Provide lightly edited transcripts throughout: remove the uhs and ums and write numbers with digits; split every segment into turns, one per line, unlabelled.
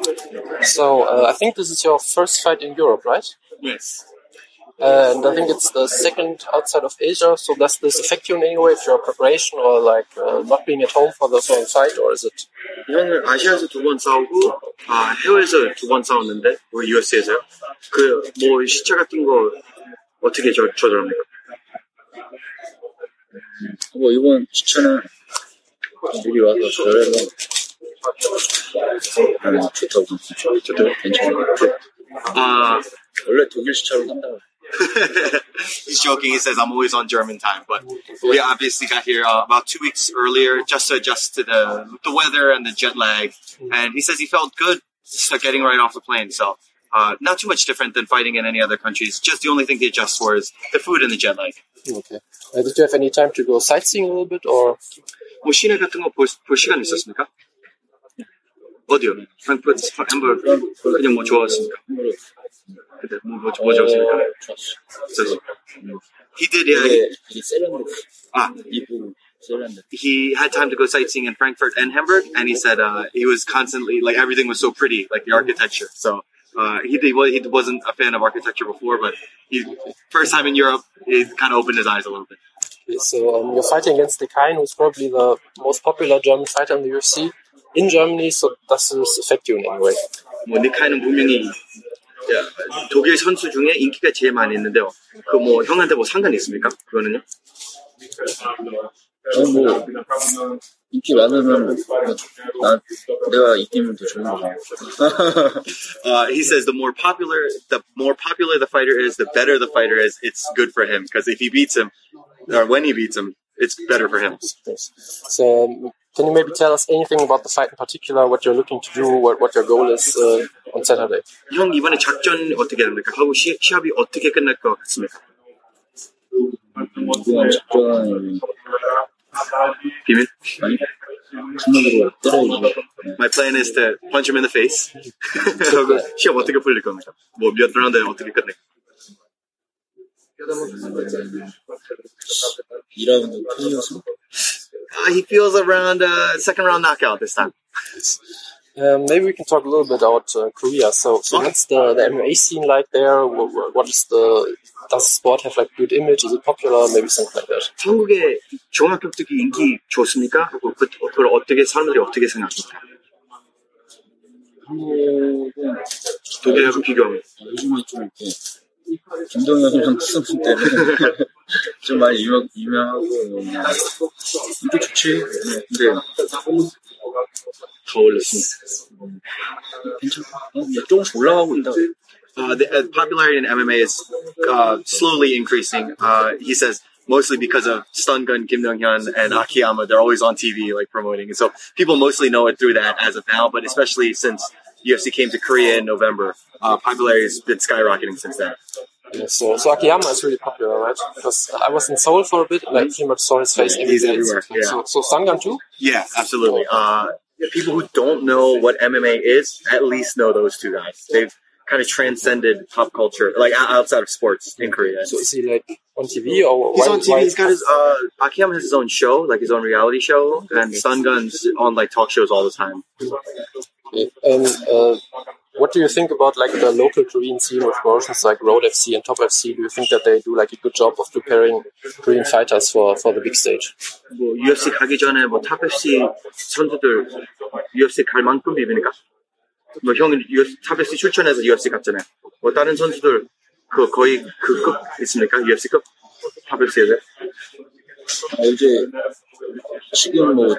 So I think this is your first fight in Europe, right?
Yes.
And I think it's the second outside of Asia. So does this affect you in any way with your preparation or like not being at home for the fight, or is it?
형은 아시아에서 2번 싸우고 해외에서 2번 싸웠는데 우리 UFC에서요. 그 뭐 시차 같은 거 어떻게 조절합니까?
뭐 이번 시차는 미리 와서 조절해서 좋다고 괜찮아요. 원래 독일 시차로 한다고.
He's joking. He says, I'm always on German time. But we obviously got here about 2 weeks earlier just to adjust to the weather and the jet lag. And he says he felt good getting right off the plane. So not too much different than fighting in any other countries. Just the only thing he adjusts for is the food and the jet lag.
Okay. Did you have any time to go sightseeing a little bit? Or?
뭐 시내 같은 거 볼 시간 있었습니까? 어디요? 프랑크푸르트, 햄버거 그냥 뭐 좋았습니까? 그때 뭐 좋았습니까? 좋았어. He did, he had time to go sightseeing in Frankfurt and Hamburg, and he said he was constantly, like, everything was so pretty, like the architecture. So he wasn't a fan of architecture before, but first time in Europe, he kind of opened his eyes a little bit.
Okay, so you're fighting against Dekain, who's probably the most popular German fighter in the UFC in Germany. So does this affect you in any way?
뭐 데카인은 분명히 독일 선수 중에 인기가 제일 많이 있는데요. 그 뭐 형한테 뭐 상관이 있습니까? 그거는요?
뭐 인기 많으면 내가 이기면 더 좋은 거죠.
He says the more popular the fighter is, the better the fighter is. It's good for him because if he beats him, or when he beats him, it's better for him.
So can you maybe tell us anything about the fight in particular? What you're looking to do? What your goal is on Saturday?
형 이번에 작전 어떻게 됩니까? 하고 시합이 어떻게 끝날 것 같습니까?
이번 작전
비밀?
아니 주먹으로 때려야지.
My plan is to punch him in the face. 시합 어떻게 풀릴 겁니까? 뭐 몇 라운드에 어떻게 끝내?
2라운드 KO였어.
He feels around second round knockout this time.
Maybe we can talk a little bit about Korea. So what's the MMA scene like there? What is does the sport have like good image? Is it popular? Maybe something like that.
한국의 종합격투기 인기 좋습니까? 하고 그걸 어떻게 사람들이 어떻게 생각합니까? 독일하고 비교하면
요즘에 좀 이렇게 김동현이랑 투승 때문에 좀 많이 유명하고 인기 좋지. 근데
더 올렸습니다.
괜찮아. 조금씩 올라가고 있다.
The popularity in MMA is slowly increasing. He says mostly because of Stun Gun, Kim Dong-hyun, and Akiyama. They're always on TV, like promoting, and so people mostly know it through that as of now. But especially since UFC came to Korea in November, popularity has been skyrocketing since then.
Yeah, so Akiyama is really popular, right? Because I was in Seoul for a bit, and I pretty much saw his face every
He's
day.
everywhere. Yeah.
So Stun Gun too?
Yeah, absolutely. People who don't know what MMA is at least know those two guys. They've kind of transcended pop culture, like outside of sports in Korea.
So is he like on TV or?
He's on TV. He's got his Akiyama has his own show, like his own reality show, and Stun Gun's on like talk shows all the time.
Okay. And what do you think about like the local Korean scene with promotions like Road FC and Top FC? Do you think that they do like a good job of preparing Korean fighters for the big stage?
뭐 UFC 가기 전에 뭐 Top FC 선수들 UFC 갈 만큼 비비니까. 뭐 형은 Top FC 출전해서 UFC 갔잖아요. 뭐 다른 선수들 그 거의 그 급 있습니까? UFC 급 Top FC에?
이제 지금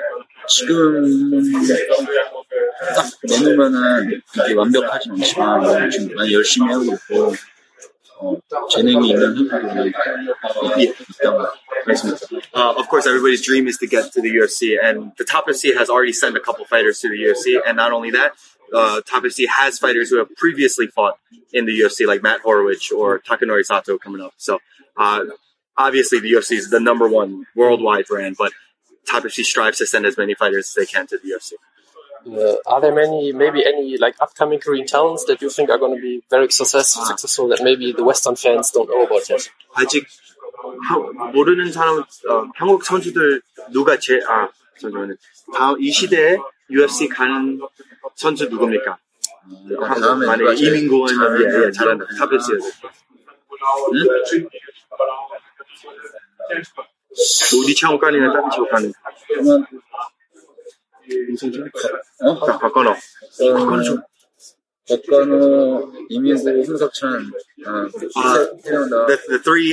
딱 내놓으면은 이게 완벽하진 않지만 지금 많이 열심히 하고 있고 재능이 있는 선수들이 있다고 말씀드립니다.
Of course, everybody's dream is to get to the UFC, and the Top FC has already sent a couple fighters to the UFC, and not only that, Top FC has fighters who have previously fought in the UFC, like Matt Horowitz or Takanori Sato coming up. So, obviously, the UFC is the number one worldwide brand, but Top FC strives to send as many fighters as they can to the UFC.
Are there maybe any like upcoming Korean talents that you think are going to be very successful that maybe the Western fans don't know about yet?
아직 모르는 사람 한국 선수들 누가 잠시만요. 다음 이 시대에 UFC 가는 선수 누굽니까?
다음에
만약에 이민고는 잘한다. 탑 FC. 어디 차원까지는 탑 FC 가는. 박건호. 박건호 좀.
박건호, 이민구, 홍석천.
The three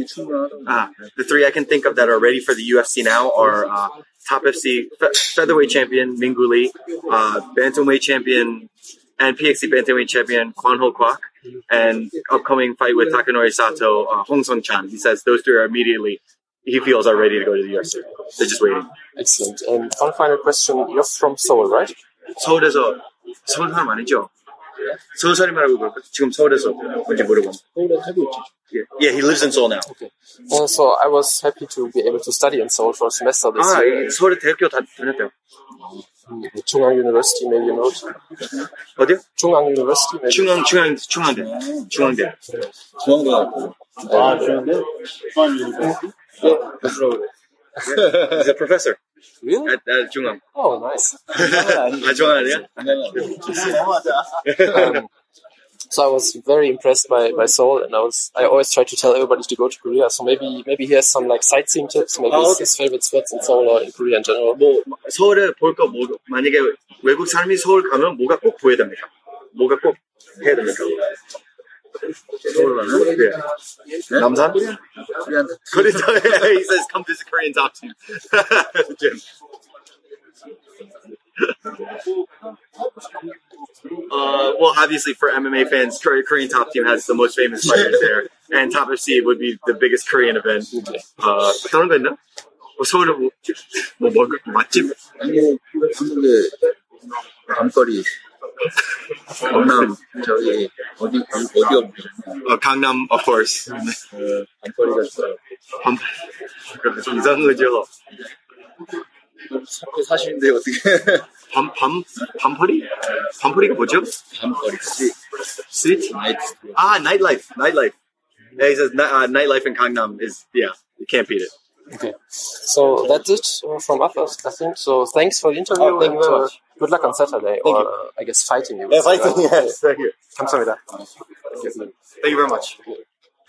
I can think of that are ready for the UFC now are Top FC featherweight champion Minggu Lee, bantamweight champion and PXC bantamweight champion Kwan Ho Kwak, and upcoming fight with Takanori Sato, Hong Sung Chan. He says those three are immediately, he feels, are ready to go to the UFC. They're just waiting.
Excellent. And one final question. You're from Seoul, right?
서울에서 서울 사람 아니죠? 서울 사람이라고 그럴까? 지금 서울에서 뭔지 모르고. Yeah, he lives in Seoul now.
Okay. So I was happy to be able to study in Seoul for a semester this year.
서울에 대학교 다녔대요.
Chungang University, maybe you know it.
어디요?
Chungang University, maybe.
중앙대.
중앙대.
He's a professor.
Really?
At 중앙.
Oh, nice.
중앙 아니야?
So I was very impressed by Seoul, and I always try to tell everybody to go to Korea. So maybe he has some like sightseeing tips, maybe his favorite spots in Seoul or in Korea in general.
뭐 서울에 볼 거 만약에 외국 사람이 서울 가면 뭐가 꼭 보여야 됩니까? 뭐가 꼭 해야 됩니까? 서울 가면? 네. 남산? Korean. He says come visit Korean top team. Jim. Well, obviously for MMA fans, Korean top team has the most famous fighters there, and Top FC would be the biggest Korean event. 다른 거 있나? 서울에 맛집?
한국의 밤거리. 강남 어디 없죠?
강남, of course.
밤거리가 있어요.
좀 이상한 거죠.
사시는데 어떻게?
밤퍼리? 밤퍼리가 뭐죠?
밤거리
스트리트? nightlife. Yeah, he says nightlife in Gangnam is, you can't beat it.
Okay. So that's it from us, I think. So thanks for the interview,
thank you very much.
Good luck on Saturday, I guess fighting you.
Yeah, fighting, yes. Thank you.
감사합니다.
Thank you very much.